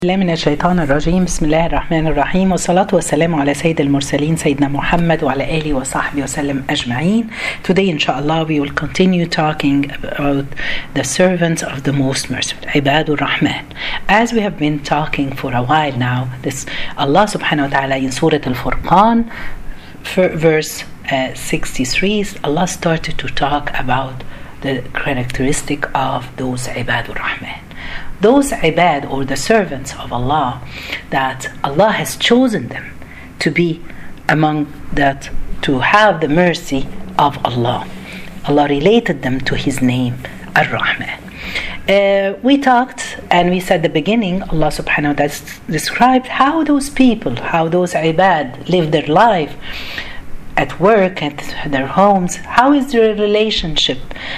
الله من الشيطان الرجيم. بسم الله الرحمن الرحيم، والصلاة والسلام على سيد المرسلين سيدنا محمد وعلى آله وصحبه وسلم أجمعين. Today inshallah we will continue talking about the servants of the most merciful, Ibadur Rahman. As we have been talking for a while now, this Allah subhanahu wa ta'ala in Surah Al-Furqan verse 63, Allah started to talk about the characteristic of those Ibadur Rahman. Those ibad, or the servants of Allah, that Allah has chosen them to be among that, to have the mercy of Allah. Allah related them to His name, Ar-Rahman. We talked and we said at the beginning, Allah subhanahu wa ta'ala described how those people, how those ibad live their life at work, at their homes. How is their relationship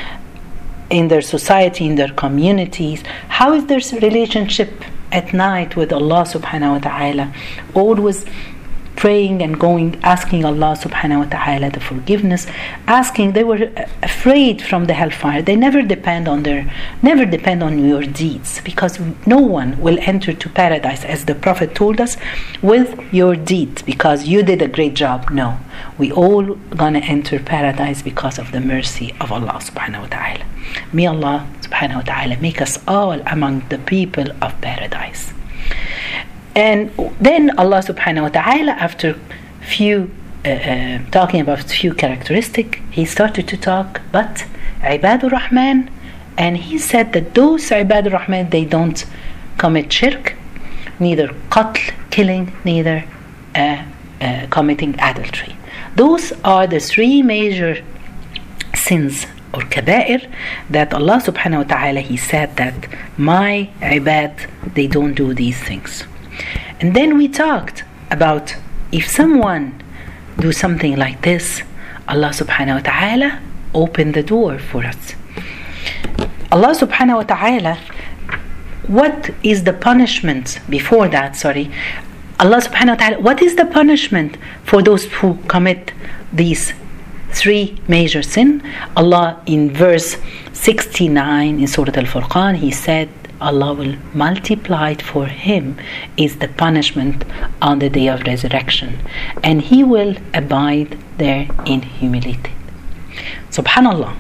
in their society, in their communities? How is their relationship at night with Allah subhanahu wa ta'ala? Always praying and going, asking Allah subhanahu wa ta'ala the forgiveness, they were afraid from the hellfire. They never depend on your deeds, because no one will enter to paradise, as the Prophet told us, with your deeds, because you did a great job. No, we all gonna enter paradise because of the mercy of Allah subhanahu wa ta'ala. May Allah subhanahu wa ta'ala make us all among the people of paradise. And then Allah subhanahu wa ta'ala, after talking about few characteristics, He started to talk about Ibadur Rahman, and He said that those Ibadur Rahman, they don't commit shirk, neither qatl, killing, neither committing adultery. Those are the three major sins or kaba'ir that Allah subhanahu wa ta'ala, He said that my ibad, they don't do these things. And then we talked about if someone do something like this, Allah subhanahu wa ta'ala opened the door for us. Allah subhanahu wa ta'ala, what is the punishment before that? Allah subhanahu wa ta'ala, what is the punishment for those who commit these three major sin? Allah in verse 69 in Surah Al-Furqan, He said Allah will multiply it for him is the punishment on the day of resurrection, and he will abide there in humility. Subhanallah.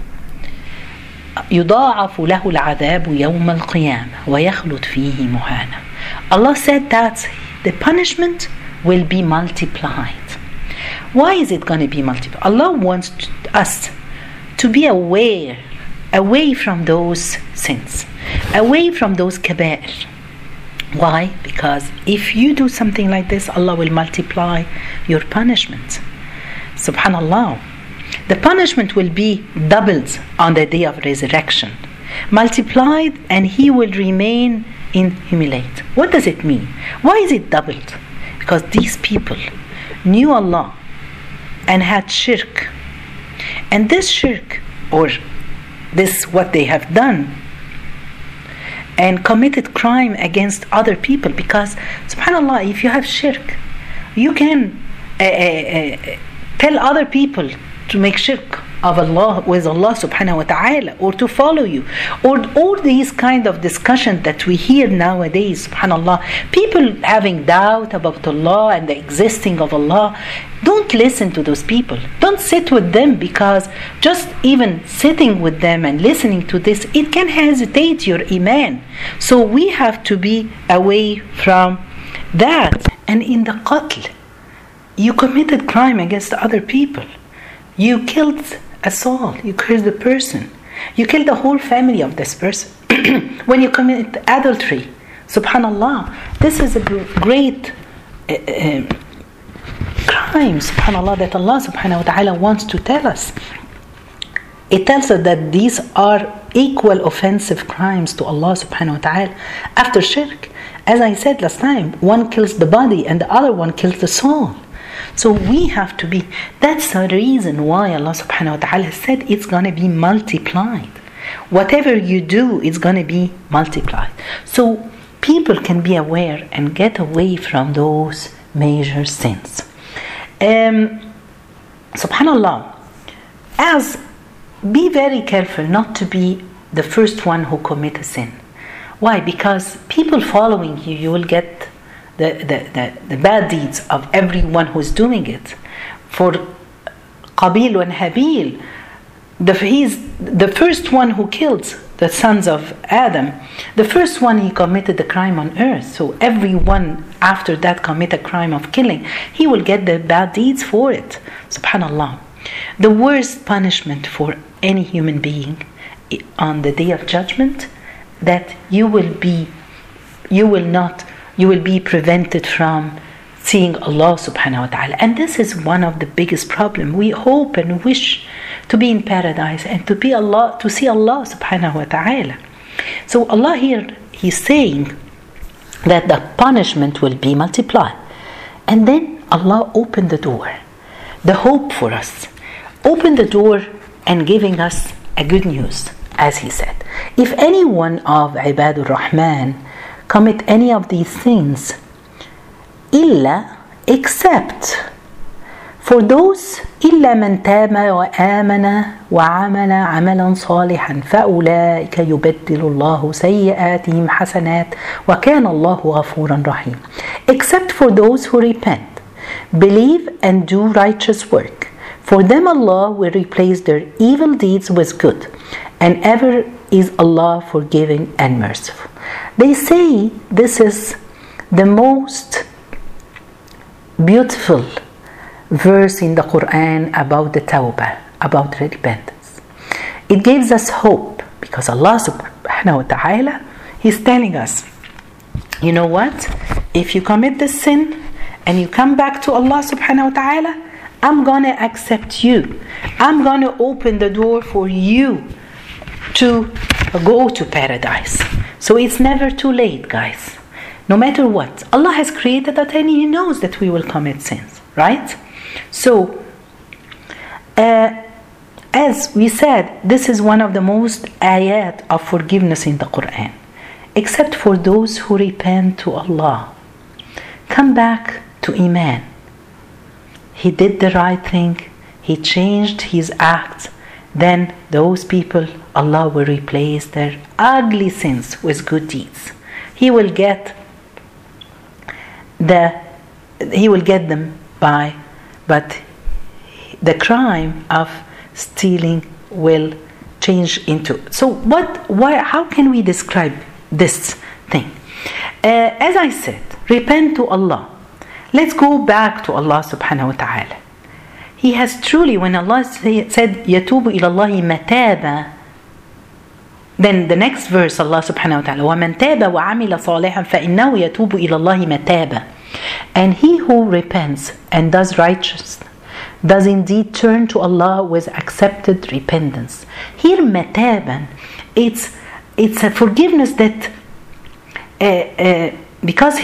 يضاعف له العذاب يوم القيامة ويخلد فيه مهانا. Allah said that the punishment will be multiplied. Why is it going to be multiplied? Allah wants us to be away from those sins, away from those kaba'ir. Why? Because if you do something like this, Allah will multiply your punishment. Subhanallah. The punishment will be doubled on the day of resurrection, multiplied, and he will remain in humility. What does it mean? Why is it doubled? Because these people knew Allah and had shirk, and this shirk, or this what they have done, and committed crime against other people. Because subhanallah, if you have shirk, you can tell other people to make shirk of Allah with Allah subhanahu wa ta'ala, or to follow you, or all these kind of discussion that we hear nowadays. Subhanallah, people having doubt about Allah and the existing of Allah. Don't listen to those people. Don't sit with them, because just even sitting with them and listening to this, it can hesitate your iman. So we have to be away from that. And in the qatl, you committed crime against other people. You killed a soul. You killed a person. You killed the whole family of this person. When you commit adultery, subhanallah, this is a great crime, subhanallah, that Allah subhanahu wa ta'ala wants to tell us. It tells us that these are equal offensive crimes to Allah subhanahu wa ta'ala after shirk. As I said last time, one kills the body and the other one kills the soul. So we have to be, that's the reason why Allah subhanahu wa ta'ala said it's going to be multiplied. Whatever you do, it's going to be multiplied. So people can be aware and get away from those major sins. Subhanallah, be very careful not to be the first one who commit a sin. Why? Because people following you, you will get the bad deeds of everyone who's doing it. For Qabil and Habil, he's the first one who killed the sons of Adam. The first one, he committed the crime on earth. So everyone after that commit a crime of killing, he will get the bad deeds for it. Subhanallah. The worst punishment for any human being on the day of judgment, that you will be prevented from seeing Allah subhanahu wa ta'ala. And this is one of the biggest problems. We hope and wish to be in paradise and to see Allah subhanahu wa ta'ala. So Allah here, He's saying that the punishment will be multiplied. And then Allah opened the door, the hope for us. Open the door and giving us a good news, as He said. If any one of Ibadur Rahman commit any of these things, except for those إلا من تاب وآمن وعمل عملا صالحا فأولئك يبدل الله سيئاتهم حسنات وكان الله غفورا رحيم. Except for those who repent, believe and do righteous work, for them Allah will replace their evil deeds with good, and ever is Allah forgiving and merciful. They say this is the most beautiful verse in the Quran about the tawbah, about repentance. It gives us hope because Allah subhanahu wa ta'ala, He's telling us, you know what? If you commit this sin and you come back to Allah subhanahu wa ta'ala, I'm going to accept you. I'm going to open the door for you to go to paradise. So it's never too late, guys. No matter what, Allah has created that and He knows that we will commit sins, right? So, as we said, this is one of the most ayat of forgiveness in the Quran. Except for those who repent to Allah, come back to Iman. He did the right thing, he changed his acts, then those people, Allah will replace their ugly sins with good deeds. He will get them by, but the crime of stealing will change into. So how can we describe this thing? As I said, repent to Allah. Let's go back to Allah subhanahu wa ta'ala. He has truly, when Allah said يَتُوبُ إِلَى اللَّهِ مَتَابًا, then the next verse Allah subhanahu wa ta'ala, وَمَنْ تَابَ وَعَمِلَ صَالِحًا فَإِنَّهُ يَتُوبُ إِلَى اللَّهِ مَتَابًا. And he who repents and does righteous does indeed turn to Allah with accepted repentance. Here mataban, it's a forgiveness that because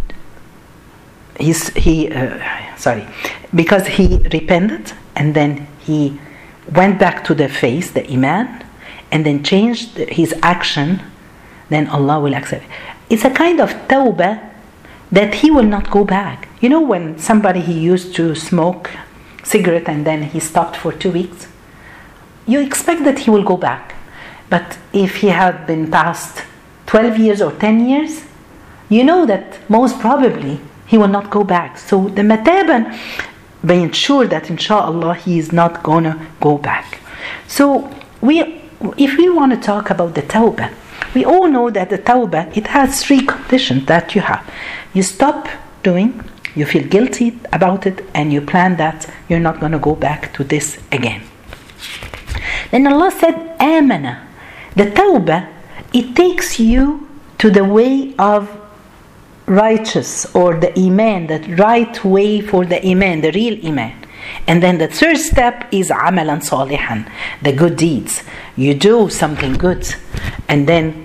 because he repented and then he went back to the faith, the iman, and then changed his action, then Allah will accept it. It's a kind of tawbah that he will not go back. You know, when somebody, he used to smoke cigarette and then he stopped for 2 weeks, you expect that he will go back. But if he had been past 12 years or 10 years, you know that most probably he will not go back. So the mataban, being sure that inshallah he is not gonna go back. So if we want to talk about the tawbah, we all know that the tawbah, it has 3 conditions that you have. You stop doing, you feel guilty about it, and you plan that you're not going to go back to this again. Then Allah said, amana. The tawbah, it takes you to the way of righteous, or the iman, the right way for the iman, the real iman. And then the third step is amalan salihan, the good deeds. You do something good, and then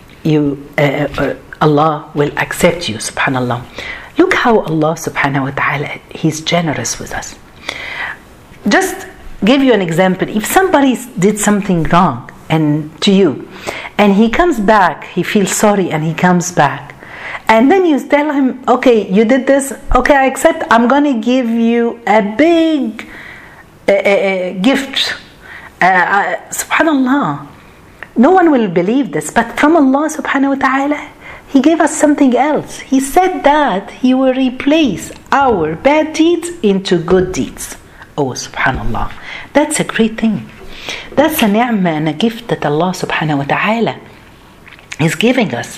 Allah will accept you, subhanallah. Look how Allah subhanahu wa ta'ala, He's generous with us. Just give you an example. If somebody did something wrong to you, and he comes back, he feels sorry and he comes back, and then you tell him, okay, you did this, okay, I accept, I'm going to give you a big gift. Subhanallah. No one will believe this, but from Allah subhanahu wa ta'ala, He gave us something else. He said that He will replace our bad deeds into good deeds. Oh, subhanallah. That's a great thing. That's a ni'mah and a gift that Allah subhanahu wa ta'ala is giving us.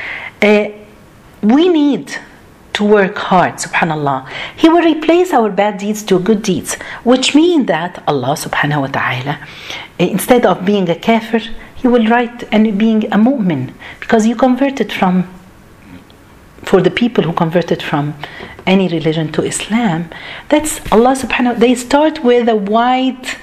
We need to work hard, subhanallah. He will replace our bad deeds to good deeds, which means that Allah subhanahu wa ta'ala, instead of being a kafir, He will write and being a mu'min, because you converted from, for the people who converted from any religion to Islam, that's Allah subhanahu wa ta'ala. They start with a white,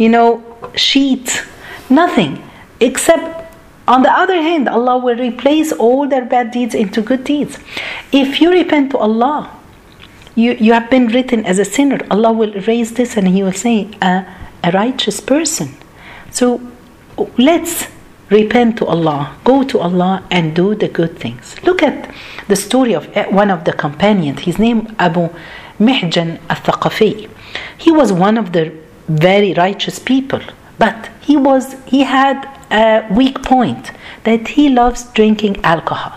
sheet, nothing, except on the other hand, Allah will replace all their bad deeds into good deeds. If you repent to Allah, you have been written as a sinner. Allah will erase this and He will say, a righteous person. So let's repent to Allah, go to Allah and do the good things. Look at the story of one of the companions. His name Abu Mihjan al-Thaqafi. He was one of the very righteous people, but he had a weak point, that he loves drinking alcohol.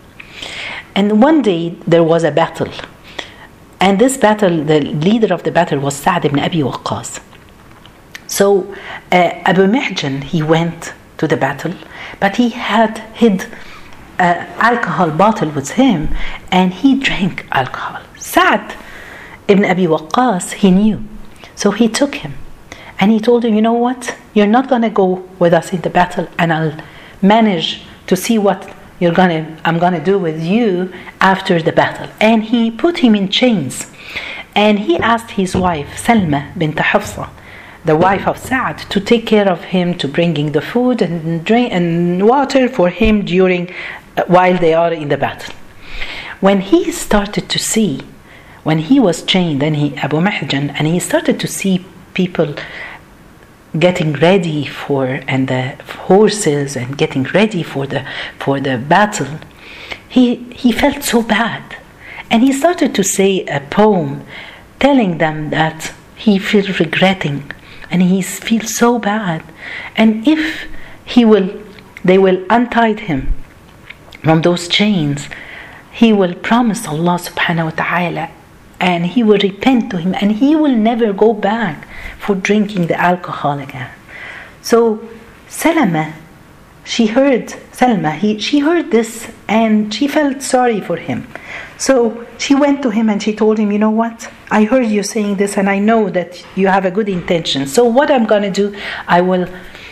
And one day there was a battle, and this battle, the leader of the battle was Sa'd ibn Abi Waqqas. So Abu Mihjan, he went to the battle, but he had hid an alcohol bottle with him, and he drank alcohol. Sa'd ibn Abi Waqqas, he knew, so he took him and he told him, you know what, you're not going to go with us in the battle, and I'll manage to see what I'm going to do with you after the battle. And he put him in chains, and he asked his wife Salma bint Hafsa, the wife of Sa'd, to take care of him, to bringing the food and drink and water for him while they are in the battle. When he started to see, when he was chained, then Abu Mihjan, and he started to see people getting ready and the horses and getting ready for the battle, he felt so bad, and he started to say a poem telling them that he feels regretting and he feels so bad, and if they will untie him from those chains, he will promise Allah subhanahu wa ta'ala, and he will repent to Him, and he will never go back for drinking the alcohol again. So Salma, she heard this, and she felt sorry for him. So she went to him and she told him, you know what, I heard you saying this, and I know that you have a good intention. So what I'm going to do, I will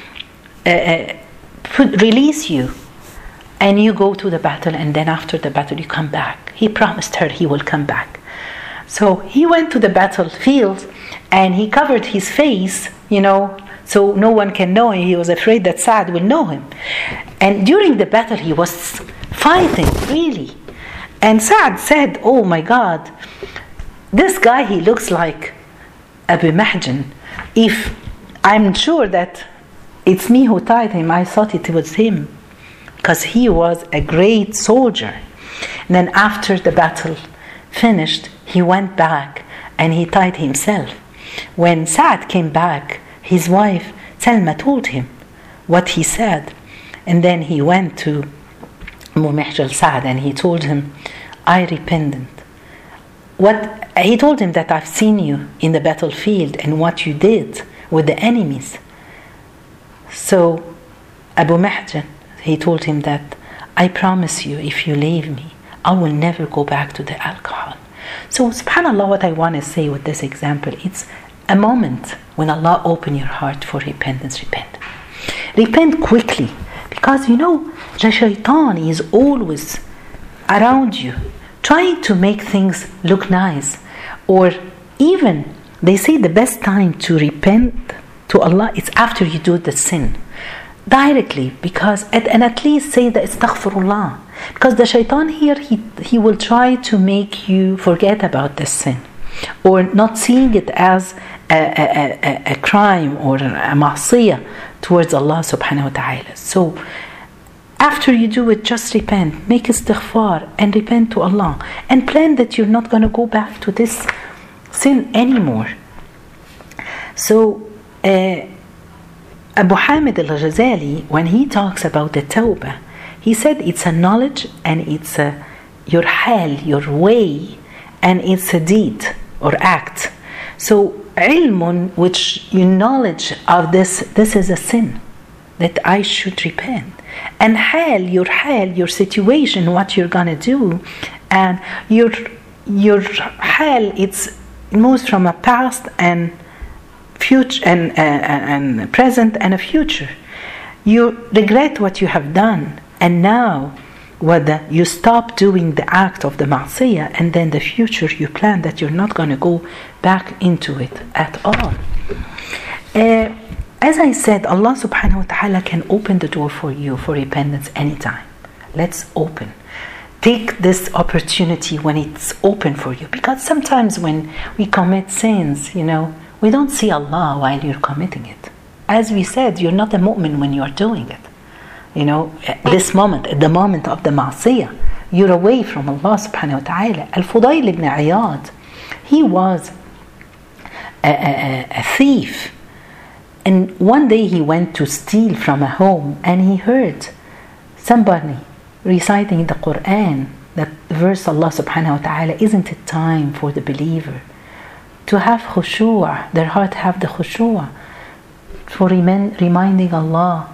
release you, and you go to the battle, and then after the battle you come back. He promised her he will come back. So he went to the battlefield, and he covered his face, so no one can know him. He was afraid that Sa'd will know him. And during the battle he was fighting, really. And Sa'd said, oh my God, this guy, he looks like Abu Mihjan. If I'm sure that it's me who tied him, I thought it was him, because he was a great soldier. And then after the battle finished, he went back and he tied himself. When Sa'd came back, his wife Salma told him what he said, and then he went to Abu Mihjan Sa'd and he told him, I repented. He told him that I've seen you in the battlefield and what you did with the enemies. So Abu Mihjan, he told him that I promise you, if you leave me, I will never go back to the alcohol. So subhanAllah, what I want to say with this example, it's a moment when Allah open your heart for repentance. Repent quickly, because the shaitan is always around you trying to make things look nice. Or even they say the best time to repent to Allah is after you do the sin directly, because at least say the astaghfirullah, because the shaitan here, he will try to make you forget about the sin, or not seeing it as a crime or a ma'siyah towards Allah subhanahu wa ta'ala. So after you do it, just repent, make istighfar and repent to Allah, and plan that you're not going to go back to this sin anymore. So Abu Hamid al-Ghazali, when he talks about the tawbah, he said it's a knowledge and it's your hal, your way, and it's a deed or act. So ilmun, which you knowledge of this is a sin that I should repent. And hal, your situation, what you're gonna do, and your hal, it moves from a past and future and present and a future. You regret what you have done, and now whether you stop doing the act of the ma'siyah, and then the future you plan that you're not going to go back into it at all. As I said, Allah subhanahu wa ta'ala can open the door for you for repentance anytime. Let's open. Take this opportunity when it's open for you, because sometimes when we commit sins, we don't see Allah while you're committing it. As we said, you're not a mu'min when you're doing it. This moment, at the moment of the ma'siyah, you're away from Allah subhanahu wa ta'ala. Al-Fudayl ibn Iyad, he was a thief. And one day he went to steal from a home, and he heard somebody reciting the Quran, that verse Allah subhanahu wa ta'ala, isn't it time for the believer to have khushu', their heart have the khushu', for reminding Allah.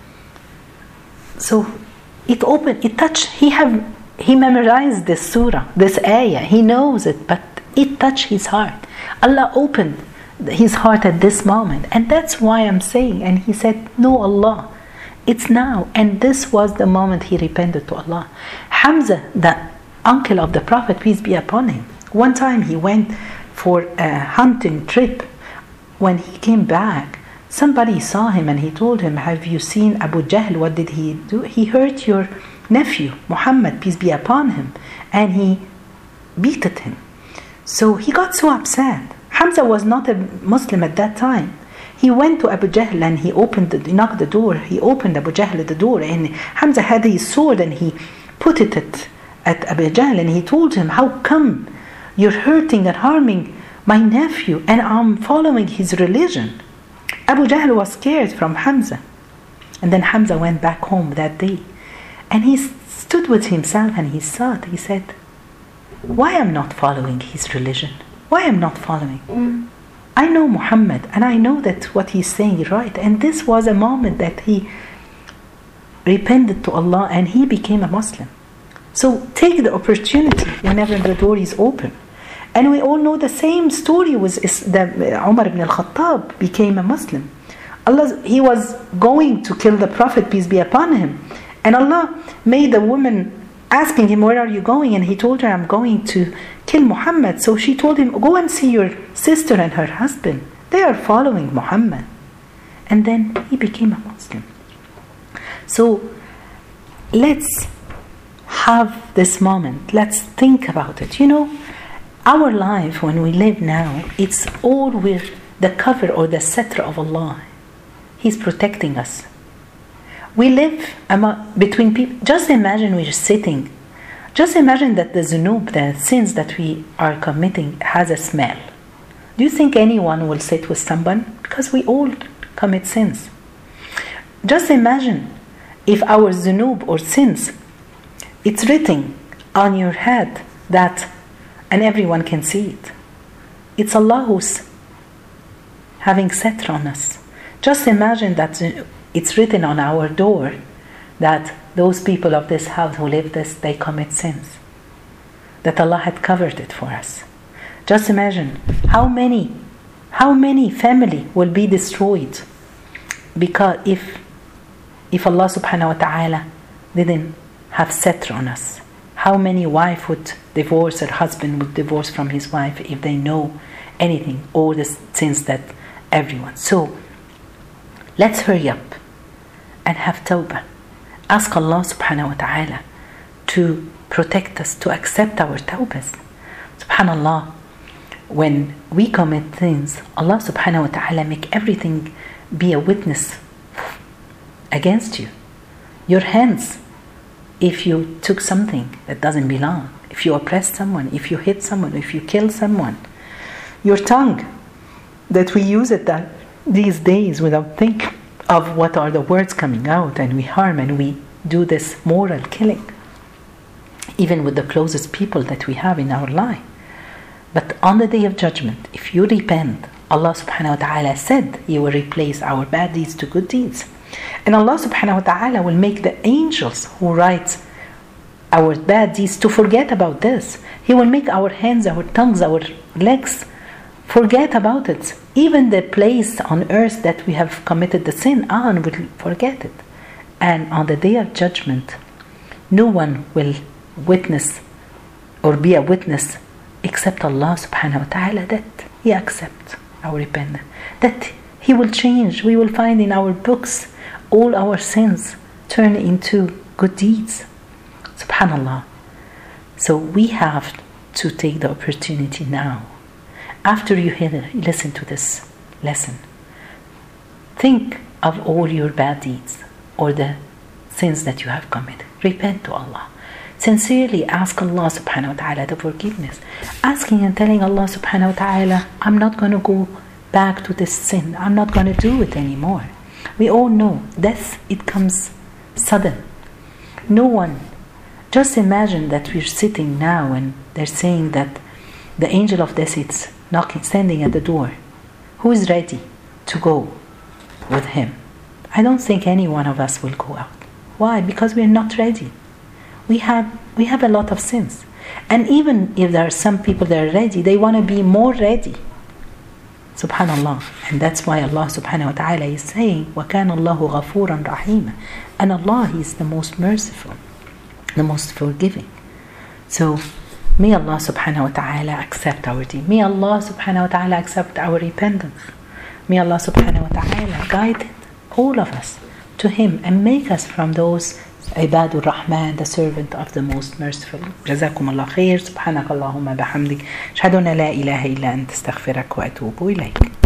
So it opened, it touched, he memorized this surah, this ayah, he knows it, but it touched his heart. Allah opened his heart at this moment, and that's why I'm saying, and he said, no, Allah, it's now. And this was the moment he repented to Allah. Hamza, the uncle of the Prophet, peace be upon him, one time he went for a hunting trip. When he came back, somebody saw him and he told him, have you seen Abu Jahl? What did he do? He hurt your nephew Muhammad, peace be upon him, and he beat him. So he got so upset. Hamza was not a Muslim at that time. He went to Abu Jahl and he knocked the door. He opened Abu Jahl the door, and Hamza had his sword and he put it at Abu Jahl, and he told him, how come you're hurting and harming my nephew, and I'm following his religion? Abu Jahl was scared from Hamza. And then Hamza went back home that day, and he stood with himself and he thought, he said, why am not following his religion? Why am not following? I know Muhammad, and I know that what he's saying is right. And this was a moment that he repented to Allah and he became a Muslim. So take the opportunity whenever the door is open. And we all know the same story was that Umar ibn al-Khattab became a Muslim. He was going to kill the Prophet, peace be upon him. And Allah made a woman asking him, where are you going? And he told her, I'm going to kill Muhammad. So she told him, go and see your sister and her husband. They are following Muhammad. And then he became a Muslim. So let's have this moment. Let's think about it. Our life, when we live now, it's all with the cover or the satra of Allah. He's protecting us. We live between people. Just imagine we're sitting. Just imagine that the zunub, the sins that we are committing, has a smell. Do you think anyone will sit with someone? Because we all commit sins. Just imagine if our zunub or sins, it's written on your head and everyone can see it. It's Allah who's having satra on us. Just imagine that it's written on our door that those people of this house who live this, they commit sins. That Allah had covered it for us. Just imagine how many family will be destroyed because if Allah subhanahu wa ta'ala didn't have satra on us. How many wife would divorce, or husband would divorce from his wife if they know anything, all the sins that everyone. So let's hurry up and have tawbah. Ask Allah subhanahu wa ta'ala to protect us, to accept our tawbahs. Subhanallah, when we commit sins, Allah subhanahu wa ta'ala make everything be a witness against you. Your hands, if you took something that doesn't belong, if you oppressed someone, if you hit someone, if you killed someone. Your tongue, that we use it these days without thinking. of what are the words coming out, and we harm and we do this moral killing, even with the closest people that we have in our life. But on the day of judgment, if you repent, Allah subhanahu wa ta'ala said He will replace our bad deeds to good deeds. And Allah subhanahu wa ta'ala will make the angels who write our bad deeds to forget about this. He will make our hands, our tongues, our legs forget about it. Even the place on earth that we have committed the sin on will forget it. And on the day of judgment, no one will witness or be a witness except Allah subhanahu wa ta'ala, that He accepts our repentance, that He will change. We will find in our books all our sins turn into good deeds. Subhanallah. So we have to take the opportunity now. After you listen to this lesson, think of all your bad deeds or the sins that you have committed. Repent to Allah. Sincerely ask Allah subhanahu wa ta'ala the forgiveness. Asking and telling Allah subhanahu wa ta'ala, I'm not going to go back to this sin. I'm not going to do it anymore. We all know death, it comes sudden. No one, just imagine that we're sitting now and they're saying that the angel of death is knocking, standing at the door. Who is ready to go with him? I don't think any one of us will go out. Why? Because we're not ready. We have a lot of sins. And even if there are some people that are ready, they want to be more ready. Subhanallah. And that's why Allah subhanahu wa ta'ala is saying, وَكَانَ اللَّهُ غَفُورًا رَحِيمًا. And Allah, He is the most merciful, the most forgiving. So may Allah subhanahu wa ta'ala accept our deed. May Allah subhanahu wa ta'ala accept our repentance. May Allah subhanahu wa ta'ala guide all of us to Him and make us from those عباد الرحمن, the servant of the most merciful. جزاكم الله خير. سبحانك اللهم بحمدك أشهد أن لا إله إلا أنت أستغفرك وأتوب إليك.